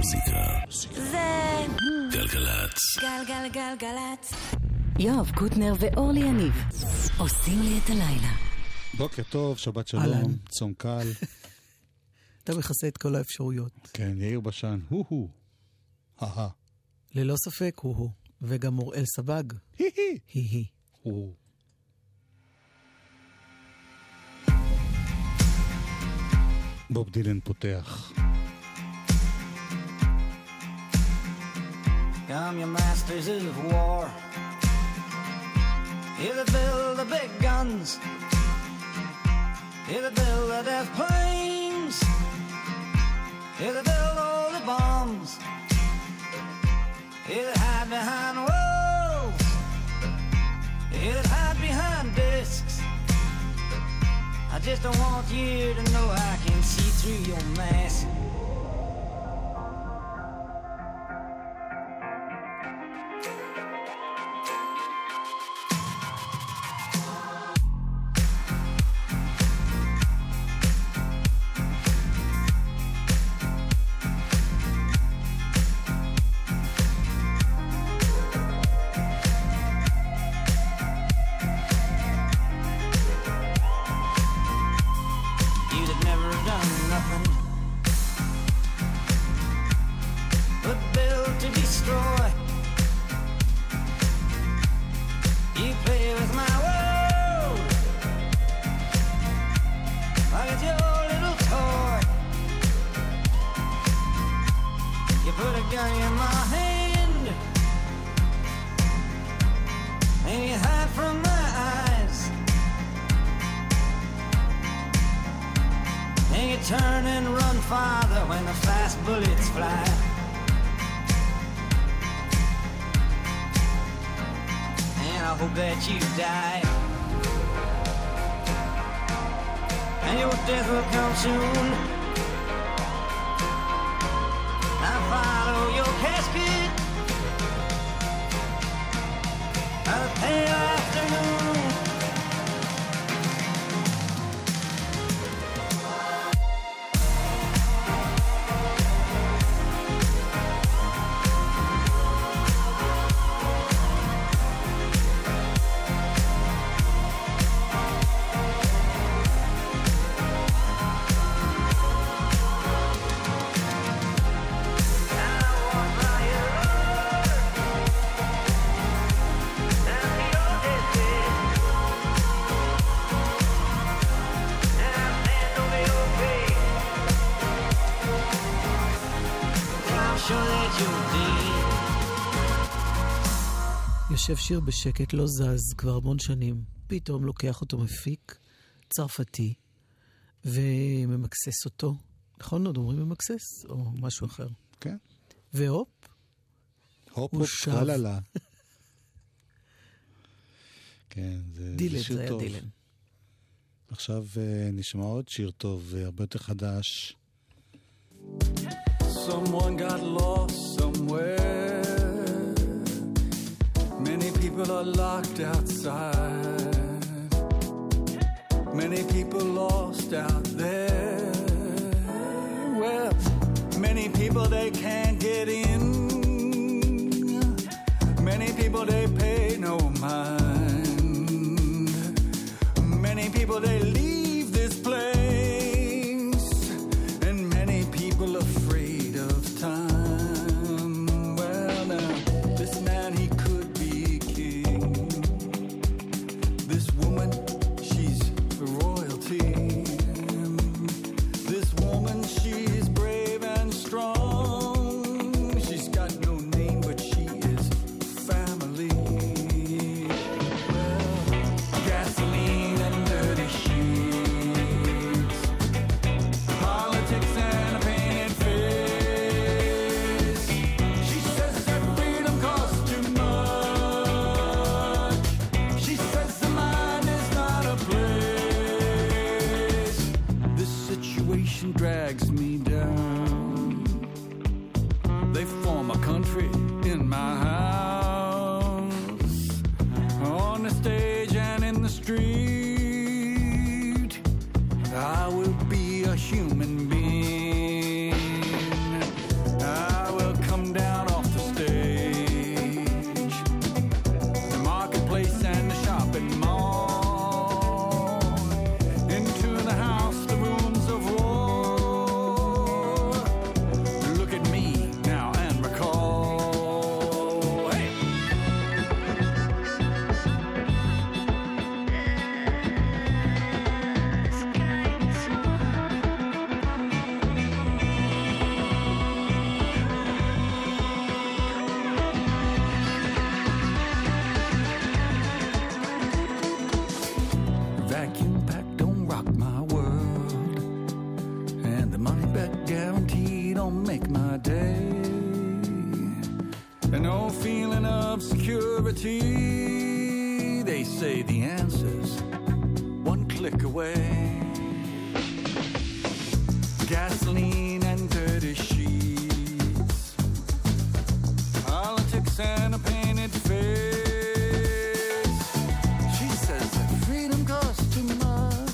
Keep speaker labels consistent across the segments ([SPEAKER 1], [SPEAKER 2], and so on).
[SPEAKER 1] המוזיקה
[SPEAKER 2] זה
[SPEAKER 1] גלגלצ.
[SPEAKER 2] גלגלגלגלצ. יואב קוטנר ואורלי יניב עושים לי את הלילה.
[SPEAKER 3] בוקר טוב, שבת שלום, צום קל.
[SPEAKER 4] אתה מכסה את כל האפשרויות.
[SPEAKER 3] כן, יאיר בשן, הו-הו. הא-הא.
[SPEAKER 4] ללא ספק, הו-הו. וגם אוראל סבג.
[SPEAKER 3] הי-הי.
[SPEAKER 4] הי-הי.
[SPEAKER 3] הו. בוב דילן פותח.
[SPEAKER 5] Come your masters of war, here to build the big guns, here to build the death planes, here to build all the bombs, here to hide behind walls, here to hide behind discs. I just don't want you to know I can see through your mask. Turn and run farther when the fast bullets fly. And I hope that you die, and your death will come soon. I follow your casket by the pale afternoon.
[SPEAKER 4] יושב שיר בשקט, לא זז כבר המון שנים. פתאום לוקח אותו מפיק צרפתי וממקסס אותו. נכון עוד אומרים ממקסס? או משהו אחר.
[SPEAKER 3] כן.
[SPEAKER 4] והופ.
[SPEAKER 3] הופ הופ קללה. כן, זה שיר טוב. זה היה דילן. עכשיו נשמע עוד שיר טוב, הרבה יותר חדש.
[SPEAKER 6] Someone got lost somewhere. Many people are locked outside. Many people lost out there. Well, many people they can't get in. Many people they pay no mind. Many people they leave this place. And many people afraid of time. Well, now, this man he could be king. This woman, she's for royalty. This woman, she's brave and strong. She's got no name, but she is family. Well, gasoline and dirty sheets. make my day. And no feeling of security. They say the answer's one click away. Gasoline and dirty sheets, politics and a painted face. She says that freedom costs too much.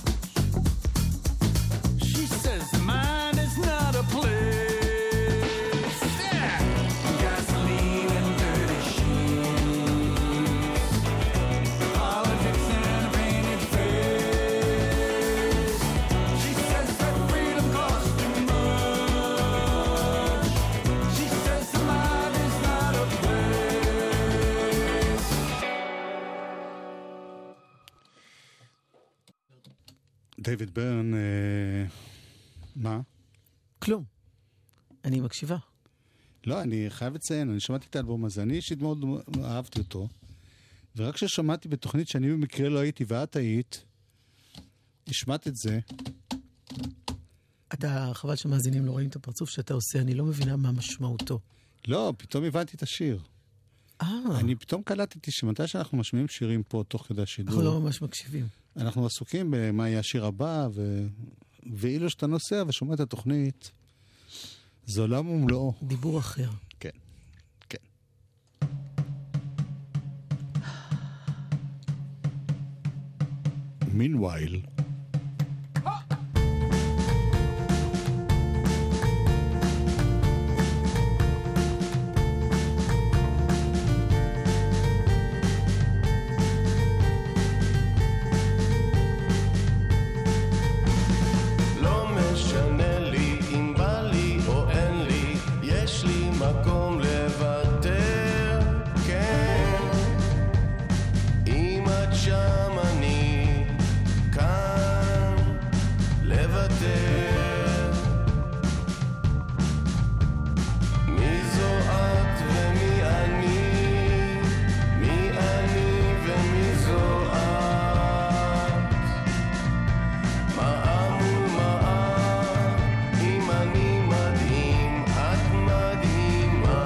[SPEAKER 6] She says the mind is not a place. Yeah. Gasoline and dirty sheets, politics and a painted face. She says that freedom costs too much. She says the mind is not a place.
[SPEAKER 3] דיוויד ברן, מה?
[SPEAKER 4] כלום. אני מקשיבה.
[SPEAKER 3] לא, אני חייב לציין, אני שמעתי את האלבום הזה, אני אישית מאוד אהבתי אותו, ורק כששמעתי בתוכנית שאני במקרה לא הייתי ואת היית, השמעת את זה.
[SPEAKER 4] אתה, חבל שמאזינים לא רואים את הפרצוף שאתה עושה, אני לא מבינה מה משמעותו.
[SPEAKER 3] לא, פתאום הבנתי את השיר. אני פתאום קלטתי שמתי שאנחנו משמיעים שירים פה תוך כדי השידור.
[SPEAKER 4] אנחנו לא ממש מקשיבים.
[SPEAKER 3] אנחנו עסוקים במה יהיה השיר הבא, ואילו שאתה נוסע ושומע את התוכנית, זה עולם ומלואו.
[SPEAKER 4] דיבור אחר.
[SPEAKER 3] כן, כן. Meanwhile,
[SPEAKER 1] מדהים, את מדהימה.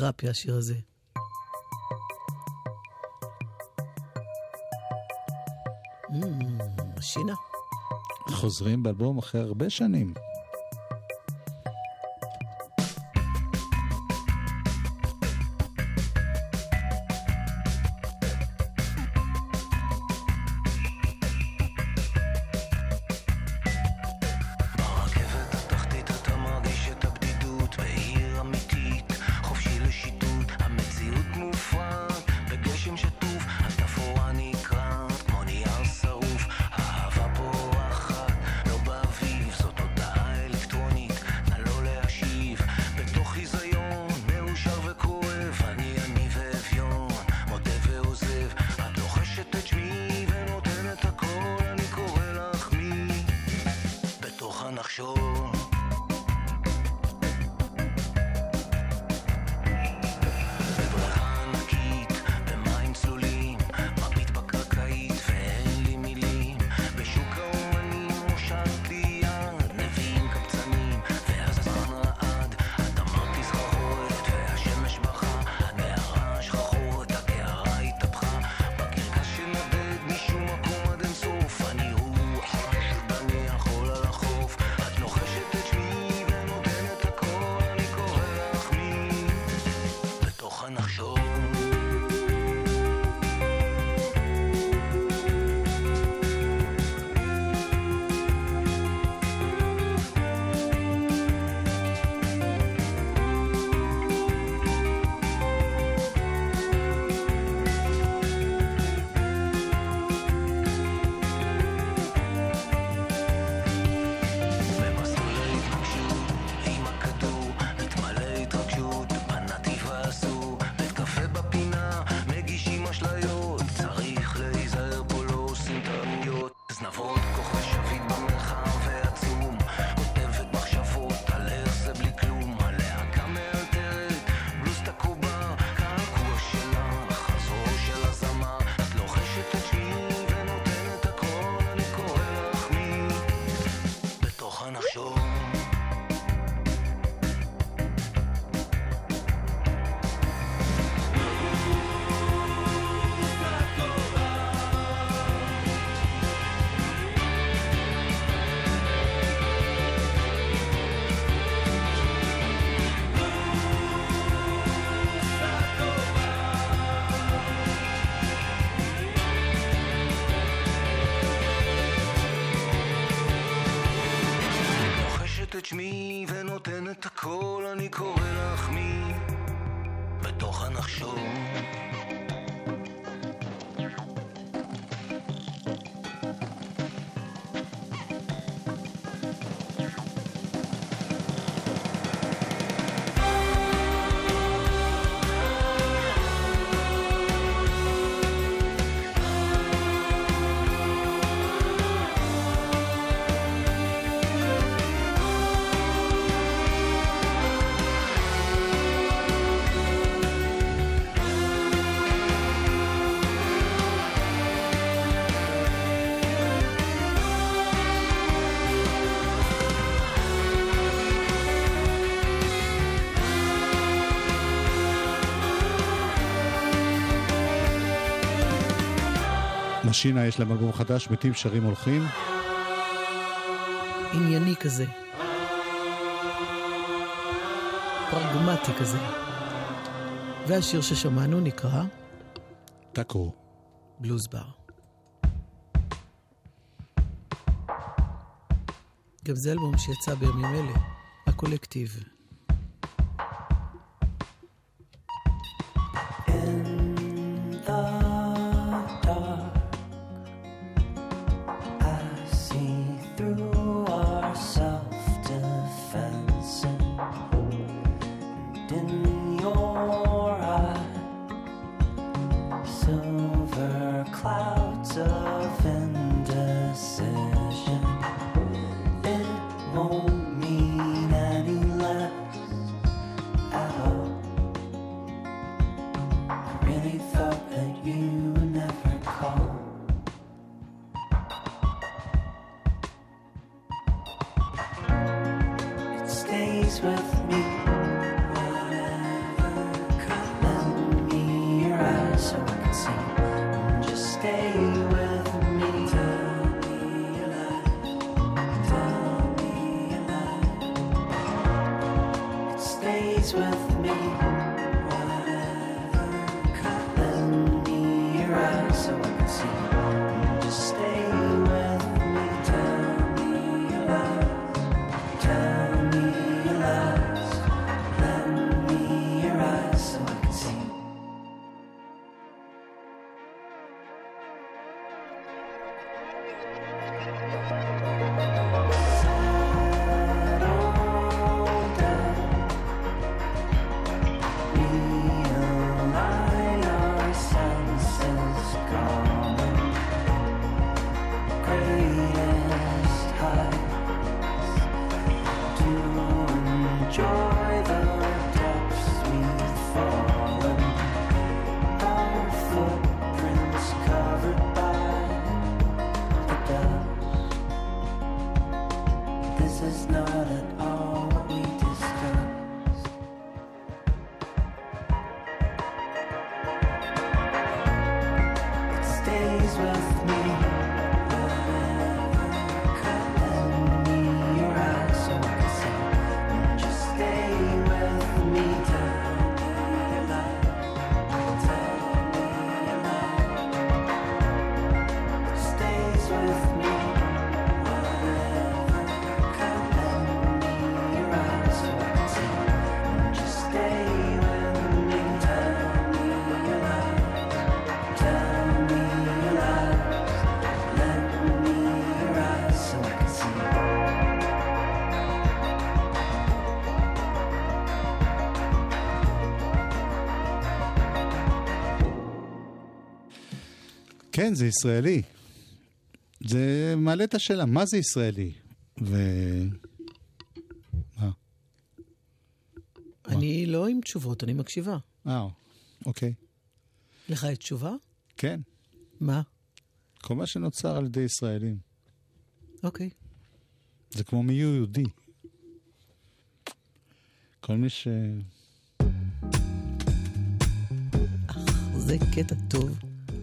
[SPEAKER 4] תרפיה, השיר הזה. שינה.
[SPEAKER 3] חוזרים באלבום אחרי הרבה שנים.
[SPEAKER 1] את שמי ונותן את הכל, אני קורא לך מי בתוך הנחשון.
[SPEAKER 3] משינה יש להם אלבום חדש, מתים שרים הולכים.
[SPEAKER 4] ענייני כזה. פרגמטי כזה. והשיר ששמענו נקרא
[SPEAKER 3] טאקו.
[SPEAKER 4] בלוז בר. גם זה אלבום שיצא בימים אלה, הקולקטיב.
[SPEAKER 5] With me, whatever
[SPEAKER 3] כן, זה ישראלי. זה מעלה את השאלה, מה זה ישראלי?
[SPEAKER 4] אני לא עם תשובות, אני מקשיבה.
[SPEAKER 3] אוקיי.
[SPEAKER 4] לך יש תשובה?
[SPEAKER 3] כן.
[SPEAKER 4] מה?
[SPEAKER 3] כל מה שנוצר על ידי ישראלים.
[SPEAKER 4] אוקיי.
[SPEAKER 3] זה כמו מי יהודי. כל מי ש...
[SPEAKER 4] זה קטע טוב.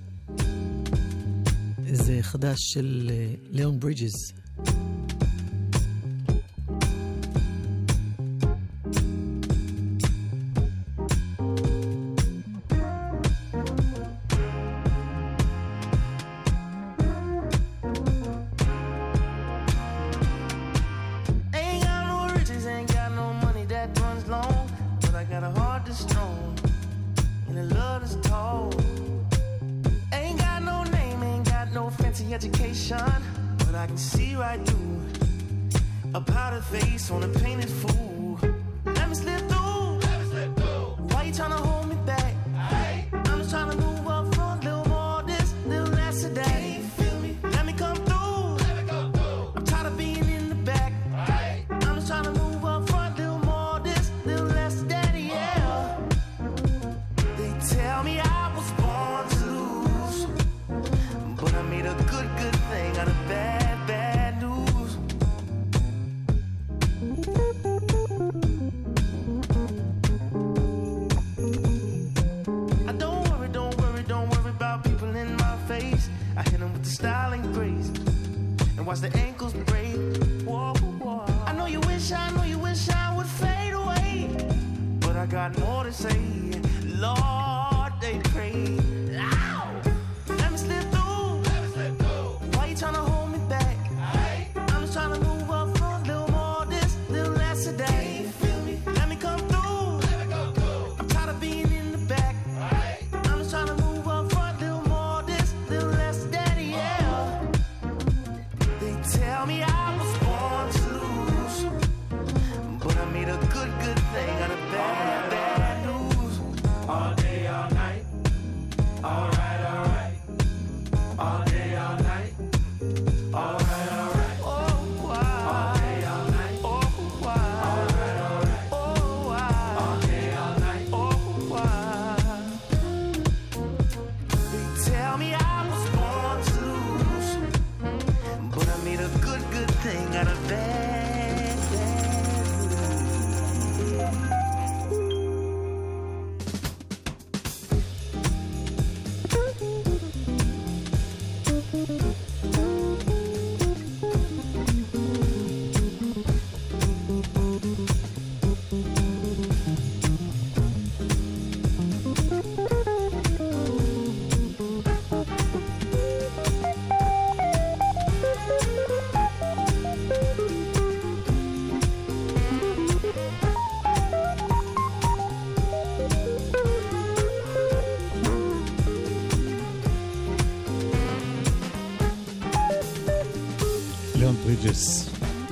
[SPEAKER 4] זה חדש של ליאון ברידג'ס.
[SPEAKER 3] ברידג'ס,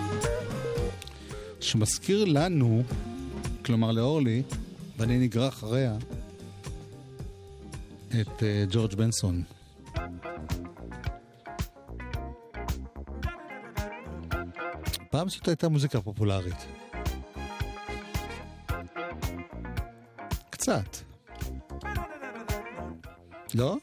[SPEAKER 3] שמזכיר לנו, כלומר לאורלי, ואני נגרע אחריה, את ג'ורג' בנסון. פעם זאת הייתה מוזיקה פופולרית. קצת. לא?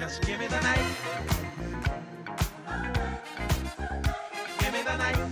[SPEAKER 7] Just give me the night. Give me the night.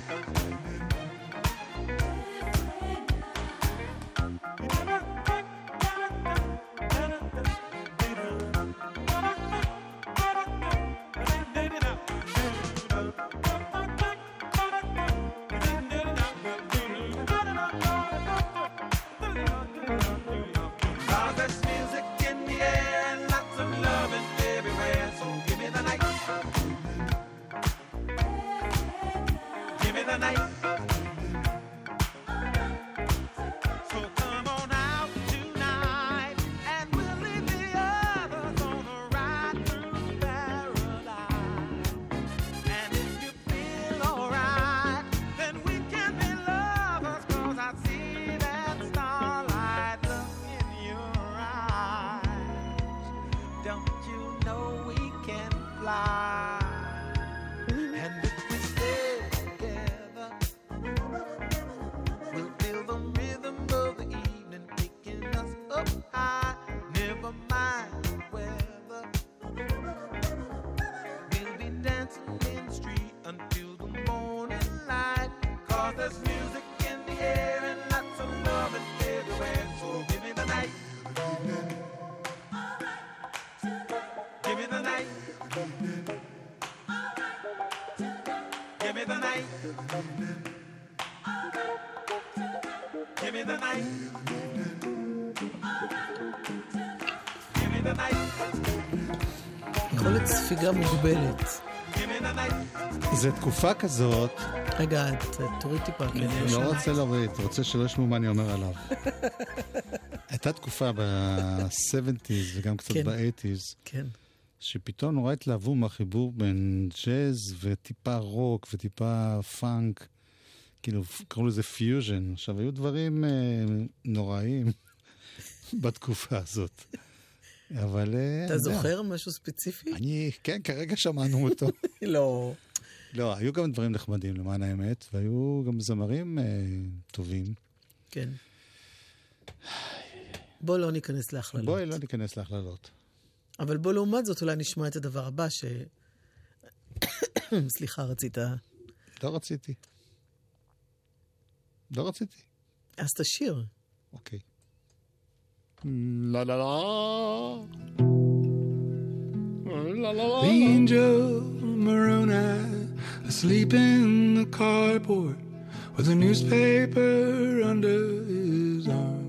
[SPEAKER 4] יכולת ספיגה מוגבלת.
[SPEAKER 3] זה תקופה כזאת.
[SPEAKER 4] רגע, תוריד טיפה.
[SPEAKER 3] לא רוצה להוריד, רוצה שלא ישמעו מה אני אומר עליו. הייתה תקופה ב-70s וגם קצת ב-80s.
[SPEAKER 4] כן.
[SPEAKER 3] שפתאום נורא התלהבו מהחיבור בין ג'אז וטיפה רוק וטיפה פאנק. כאילו, קראו לזה פיוז'ן. עכשיו, היו דברים נוראים בתקופה הזאת. אבל...
[SPEAKER 4] אתה זוכר משהו ספציפי?
[SPEAKER 3] כן, כרגע שמענו אותו.
[SPEAKER 4] לא.
[SPEAKER 3] לא, היו גם דברים נחמדים, למען האמת, והיו גם זמרים טובים.
[SPEAKER 4] כן. בוא לא ניכנס להכללות.
[SPEAKER 3] בואי לא ניכנס להכללות.
[SPEAKER 4] אבל בוא לעומת זאת אולי נשמע את הדבר הבא סליחה, רצית...
[SPEAKER 3] לא רציתי.
[SPEAKER 4] אז תשיר.
[SPEAKER 3] אוקיי. La la la. La la la.
[SPEAKER 8] The angel Moroni asleep in the carport with a newspaper under his arm.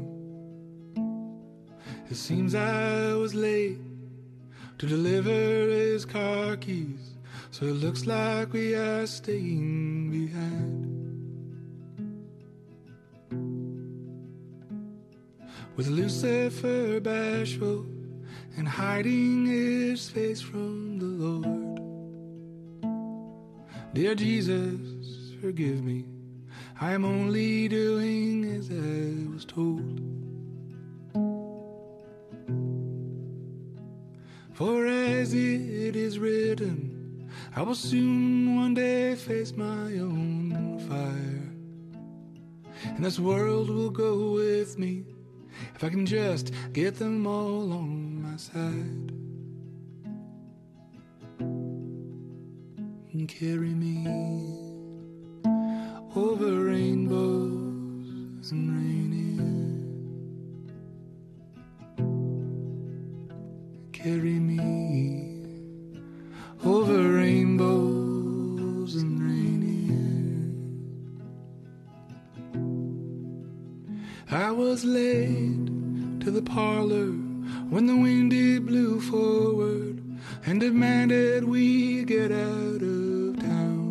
[SPEAKER 8] It seems I was late to deliver his car keys, so it looks like we are staying behind. With Lucifer bashful and hiding his face from the Lord. Dear Jesus, forgive me, I am only doing as I was told. For as it is written, I will soon one day face my own fire, and this world will go with me if I can just get them all on my side and carry me over rainbows and rainy, carry me over rainbows and rainy. I was late to the parlor when the wind it blew forward and demanded we get out of town.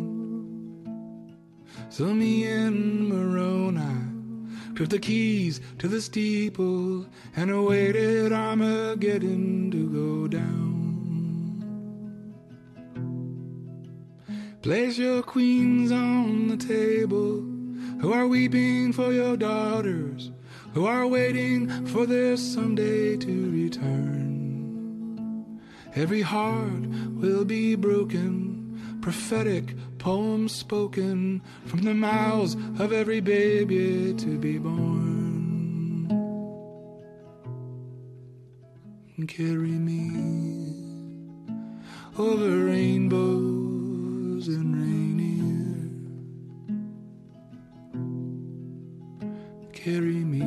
[SPEAKER 8] So me and Moroni took the keys to the steeple and awaited Armageddon to go down. Place your queens on the table who are weeping for your daughters, who are waiting for their someday to return. Every heart will be broken, prophetic poems spoken from the mouths of every baby to be born. And carry me over rainbows and Rainier. Carry me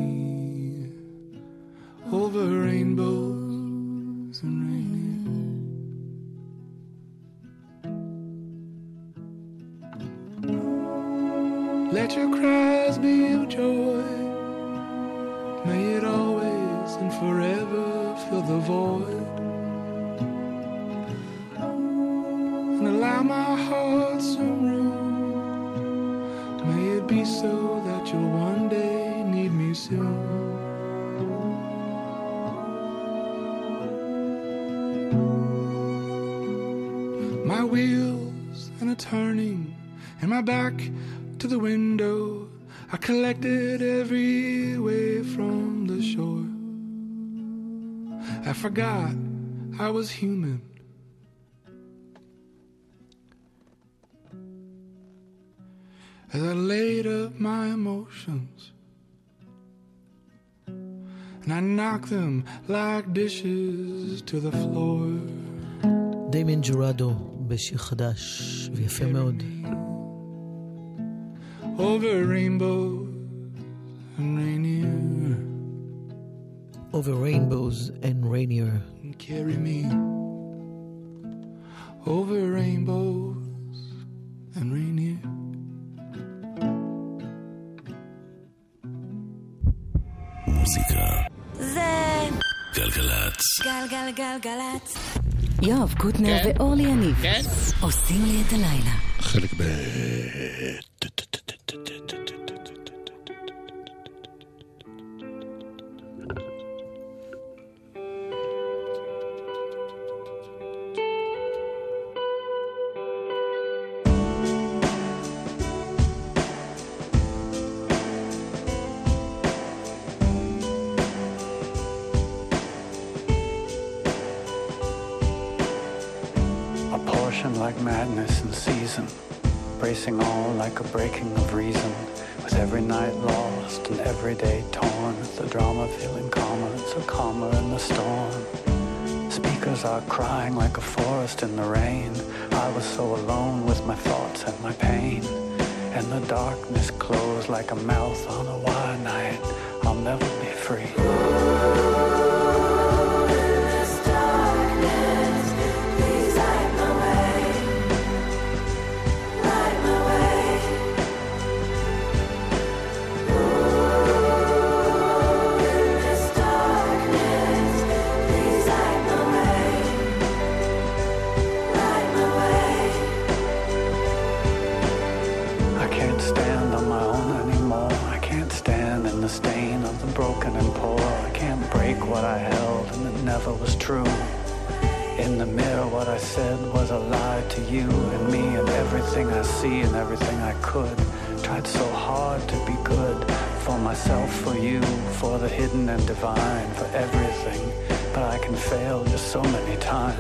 [SPEAKER 8] over rainbows and Rainier. Let your cries be of joy. May it always and forever fill the void. And allow my heart some room. May it be so that you'll one day need me soon. My wheels and a turning and my back to the window, I collected every wave from the shore. I forgot I was human. As I laid up my emotions and I knocked them like dishes to the floor.
[SPEAKER 4] דיימין ג'ורדו בשיר חדש ויפה מאוד.
[SPEAKER 8] Over rainbows and Rainier.
[SPEAKER 4] Over rainbows and Rainier.
[SPEAKER 8] And carry me over rainbows and Rainier.
[SPEAKER 1] מוזיקה
[SPEAKER 2] זה
[SPEAKER 1] גלגלצ.
[SPEAKER 2] גלגלגלגלצ. יואב קוטנר ואורלי יניב עושים לי את הלילה.
[SPEAKER 3] חלק ב...
[SPEAKER 9] Like madness in season, bracing all like a breaking of reason, with every night lost and every day torn, the drama feeling calmer, so calmer in the storm. Speakers are crying like a forest in the rain. I was so alone with my thoughts and my pain, and the darkness closed like a mouth on a wild night. I'll never be free. What I held and it never was true. In the mirror what I said was a lie to you and me and everything I see and everything I could. Tried so hard to be good for myself, for you, for the hidden and divine, for everything. But I can fail just so many times.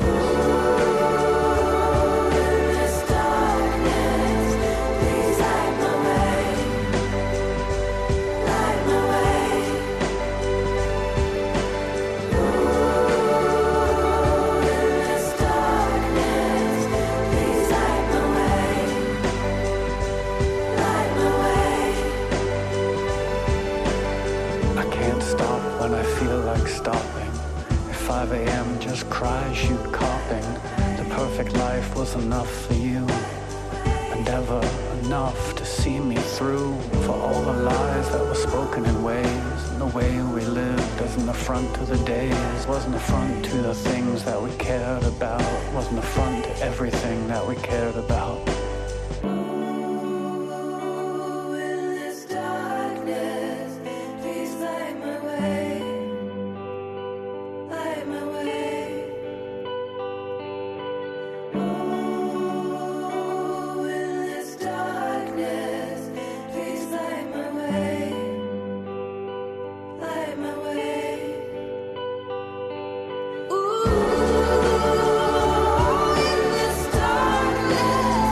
[SPEAKER 9] Stopping at 5 a.m. just cries you coughing. The perfect life was enough for you, and ever enough to see me through. For all the lies that were spoken in ways, and the way we lived as an affront to the days. Wasn't affront to the things that we cared about. Wasn't affront to everything that we cared about.
[SPEAKER 10] Ooh, in this darkness.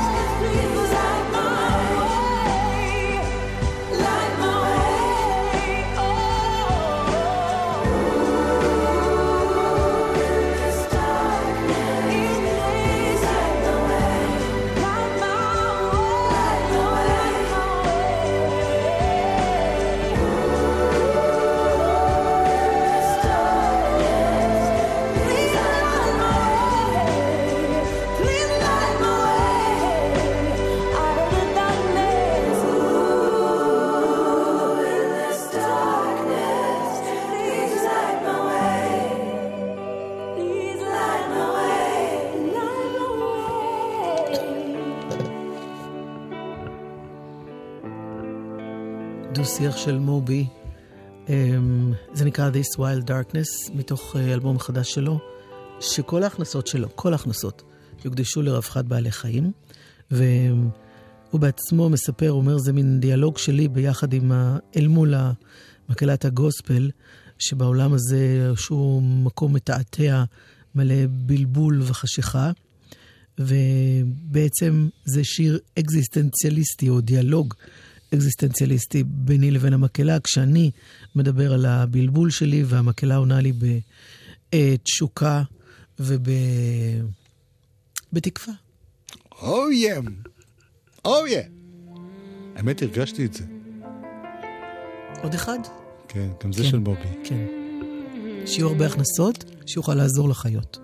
[SPEAKER 4] דו-שיח של מובי. זה נקרא This Wild Darkness, מתוך אלבום חדש שלו, שכל ההכנסות שלו, כל ההכנסות, יוקדשו לרווחת בעלי חיים. והוא בעצמו מספר, אומר, זה מין דיאלוג שלי ביחד עם אל מול מקהלת הגוספל, שבעולם הזה שהוא מקום מתעתע, מלא בלבול וחשיכה, ובעצם זה שיר אקזיסטנציאליסטי או דיאלוג אקזיסטנציאליסטי ביני לבין המקהלה, כשאני מדבר על הבלבול שלי והמקהלה עונה לי בתשוקה בתקווה.
[SPEAKER 3] אוי, האמת הרגשתי את זה.
[SPEAKER 4] עוד אחד?
[SPEAKER 3] כן, גם זה של בובי.
[SPEAKER 4] כן. שיהיו הרבה הכנסות, שיוכל לעזור לחיות.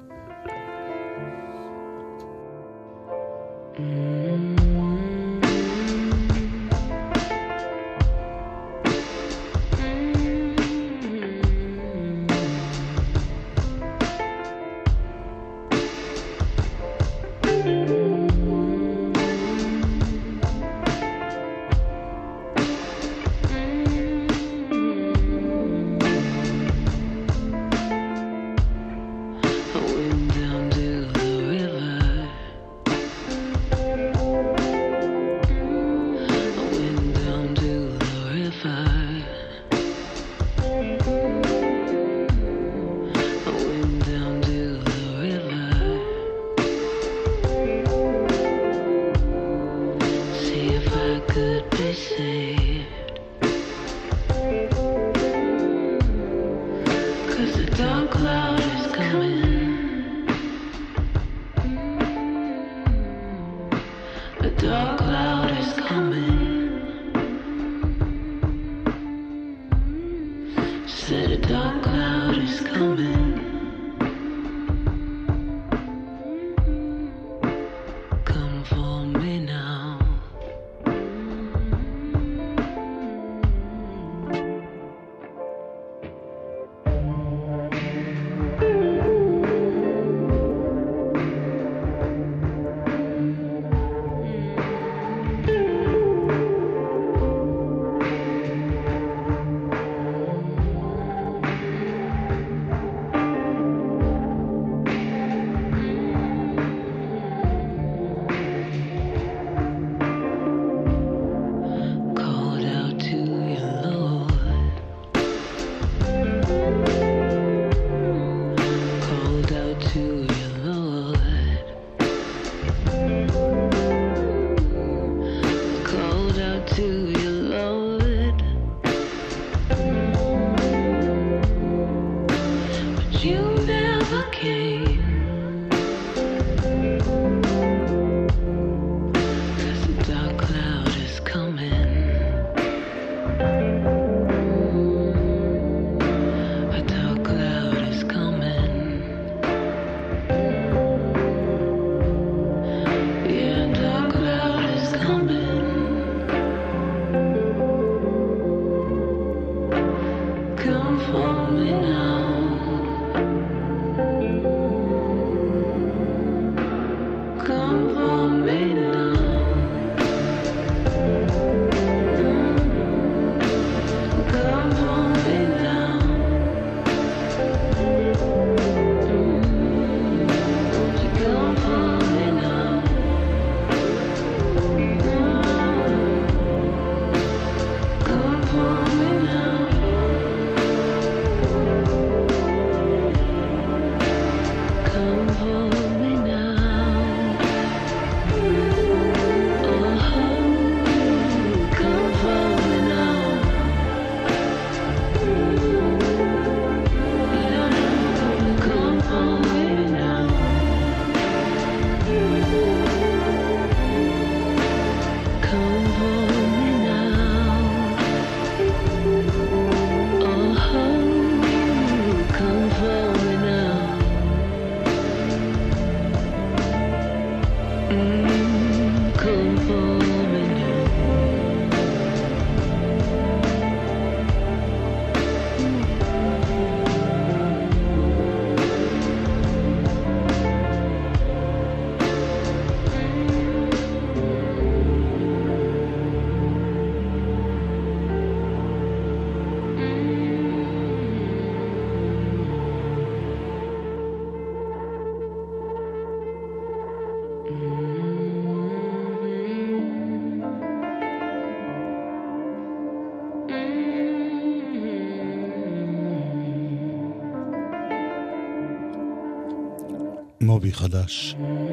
[SPEAKER 3] מובי חדש.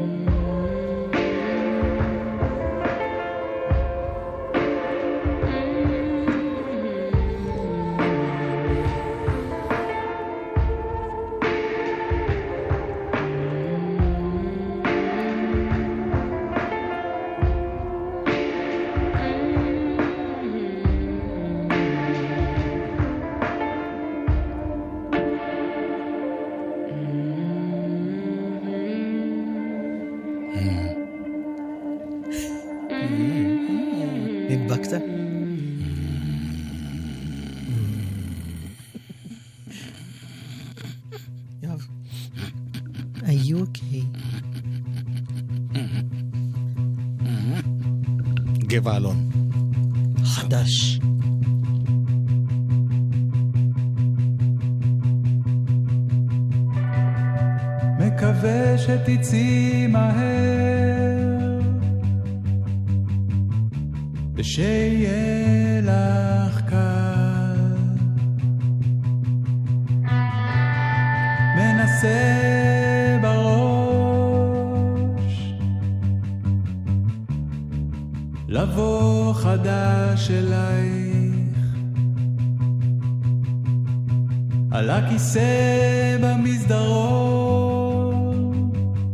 [SPEAKER 4] נדבקת? יואב, are you okay?
[SPEAKER 3] גבע אלון.
[SPEAKER 4] חדש.
[SPEAKER 10] מקווה שתצאי מהר ושיהיה לך קל. מנסה בראש לבוא חדש אלייך על הכיסא במסדרון,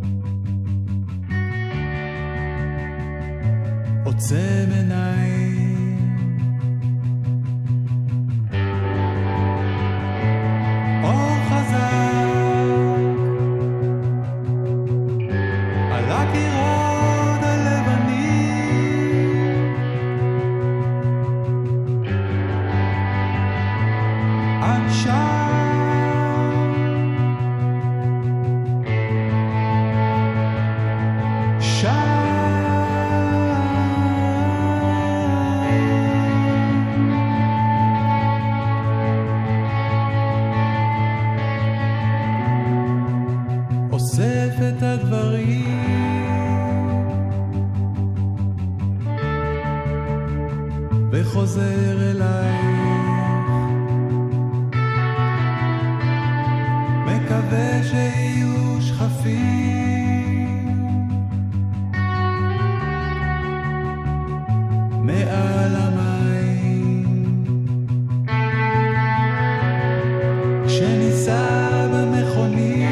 [SPEAKER 10] עוצם עיניים, אור חזק על הקירות הלבנים, עד שם אוסף את הדברים וחוזר אלייך, מקווה שיהיו שחפים מעל המים כשניסע במכונית,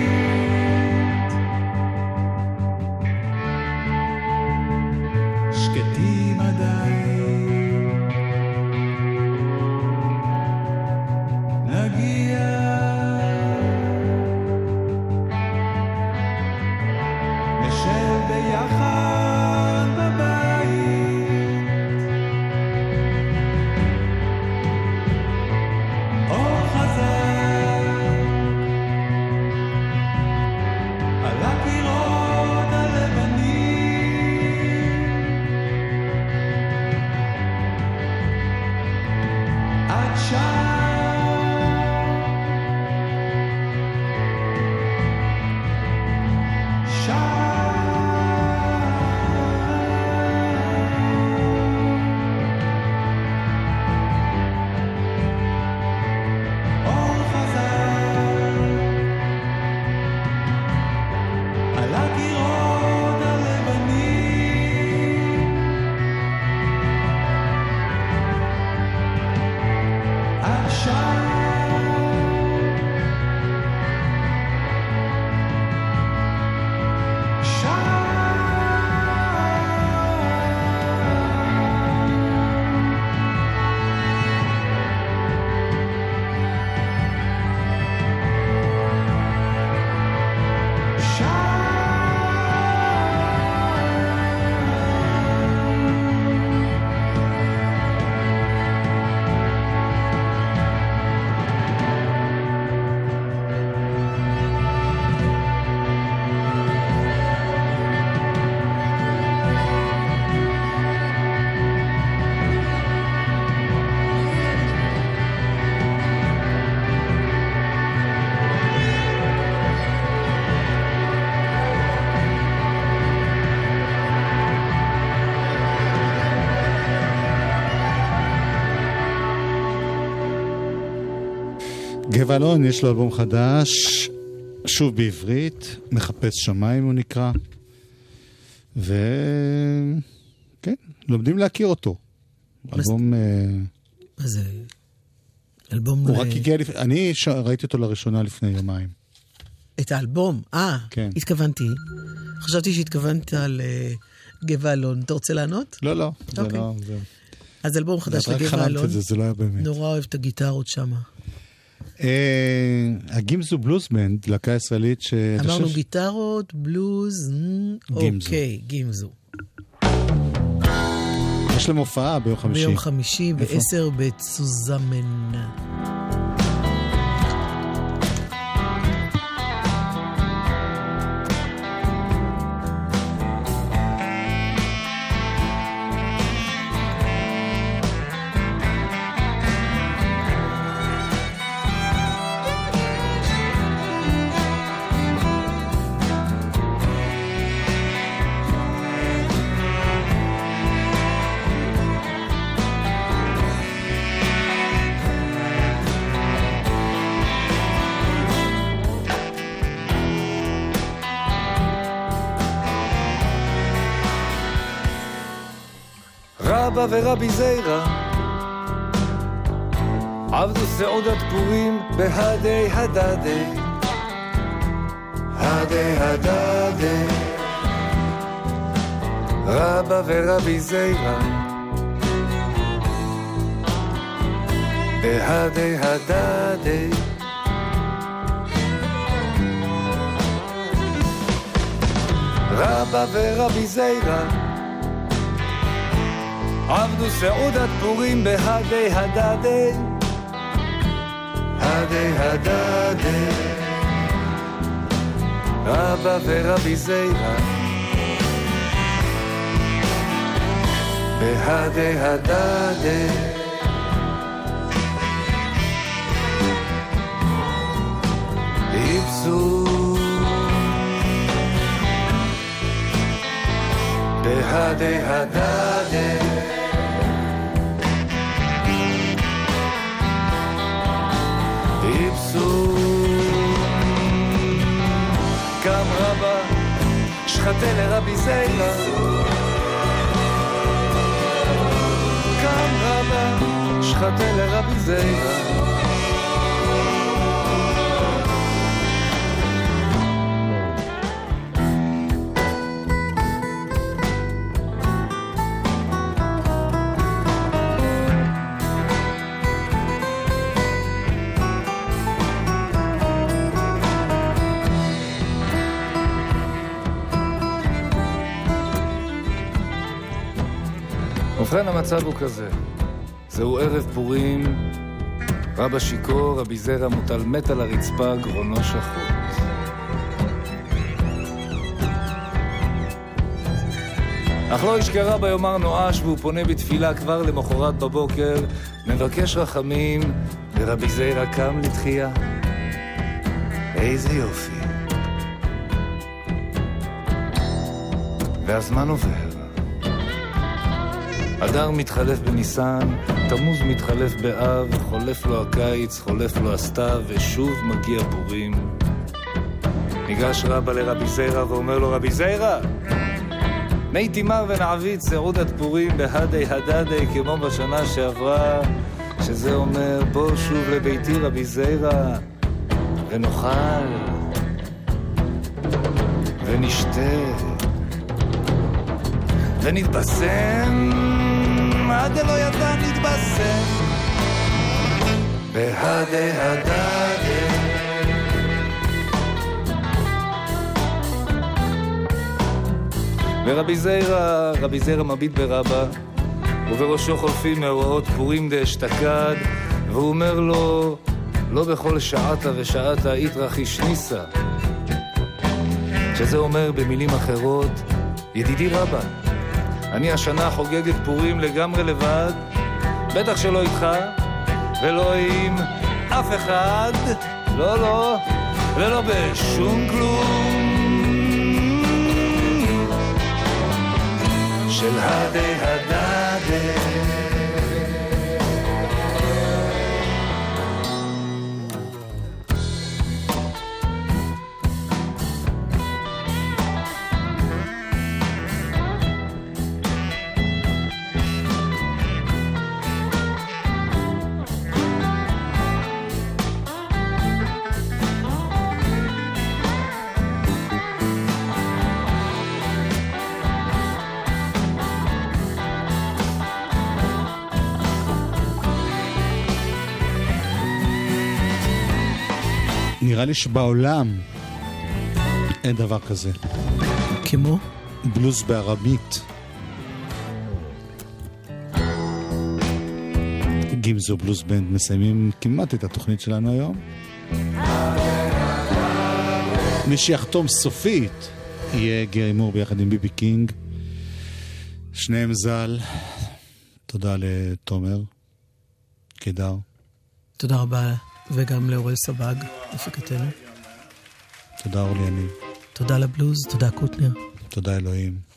[SPEAKER 10] שקטים עדיין, נגיע נשב ביחד בבית, אור חזק על הקירות הלבנים, עד שם
[SPEAKER 3] גבע אלון יש לו אלבום חדש שוב בעברית, מחפש שמיים הוא נקרא, וכן, לומדים להכיר אותו. אלבום...
[SPEAKER 4] מה זה? אלבום...
[SPEAKER 3] הוא רק הגיע אני ראיתי אותו לראשונה לפני יומיים.
[SPEAKER 4] את האלבום?
[SPEAKER 3] כן.
[SPEAKER 4] התכוונתי. חשבתי שהתכוונת על גבע אלון. אתה רוצה לענות?
[SPEAKER 3] לא, זה לא...
[SPEAKER 4] אז אלבום חדש לגבע אלון.
[SPEAKER 3] זה לא היה באמת.
[SPEAKER 4] נורא אוהב את הגיטרות שם.
[SPEAKER 3] הגימזו בלוז בנד, להקה ישראלית ש...
[SPEAKER 4] אמרנו גיטרות, בלוז, אוקיי, גימזו.
[SPEAKER 3] יש להם הופעה ביום חמישי.
[SPEAKER 4] ביום חמישי, ב-10 בצוזמן.
[SPEAKER 11] רבא ורבי זיירה עבדו סעודת פורים בהדי הדדי הדי הדדי רבא ורבי זיירה בהדי הדדי רבא ורבי זיירה עבדו סעודת פורים בהדי הדדי הדי הדדי רבא ורבי זיירה בהדי הדדי איפסו בהדי הדדי איפסו קם רבא שחטא לרבי זיירה קם רבא שחטא לרבי זיירה ובכן המצב הוא כזה, זהו ערב פורים, רבא שיקור, רבי זיירה מוטל מת על הרצפה, גרונו שחוט. אך לא ישכח רבא יאמר נואש, והוא פונה בתפילה כבר למחרת בבוקר, מבקש רחמים, ורבי זיירה קם לתחייה. איזה יופי. והזמן עובר. אדר מתחלף בניסן, תמוז מתחלף באב, חולף לו הקיץ, חולף לו הסתיו, ושוב מגיע פורים. ניגש רבא לרבי זיירה ואומר לו, רבי זיירה, מי תימר ונעבית סעודת פורים בהדי הדדי כמו בשנה שעברה, שזה אומר בוא שוב לביתי רבי זיירה, ונאכל, ונשתה, ונתבשם, עד לא ידע נתבשם בהדי הדדי. ורבי זיירה מביט ברבא, ובראשו חולפים מאורעות פורים דאשתקד, והוא אומר לו, לא בכל שעתה ושעתה יתרחיש ניסה, שזה אומר במילים אחרות, ידידי רבא, אני השנה חוגגת פורים לגמרי לבד, בטח שלא איתך ולא עם אף אחד, לא, ולא בשום כלום של הדי הדדי.
[SPEAKER 3] נראה לי שבעולם אין דבר כזה.
[SPEAKER 4] כמו?
[SPEAKER 3] בלוז בארמית. גימזו בלוז בנד מסיימים כמעט את התוכנית שלנו היום. מי שיחתום סופית יהיה גרי מור ביחד עם ביבי קינג. שניהם זל. תודה לתומר קדר.
[SPEAKER 4] תודה רבה, וגם לאורל סבג, הפקתנו.
[SPEAKER 3] תודה אורלי יניב.
[SPEAKER 4] תודה לבלוז, תודה קוטנר.
[SPEAKER 3] תודה אלוהים.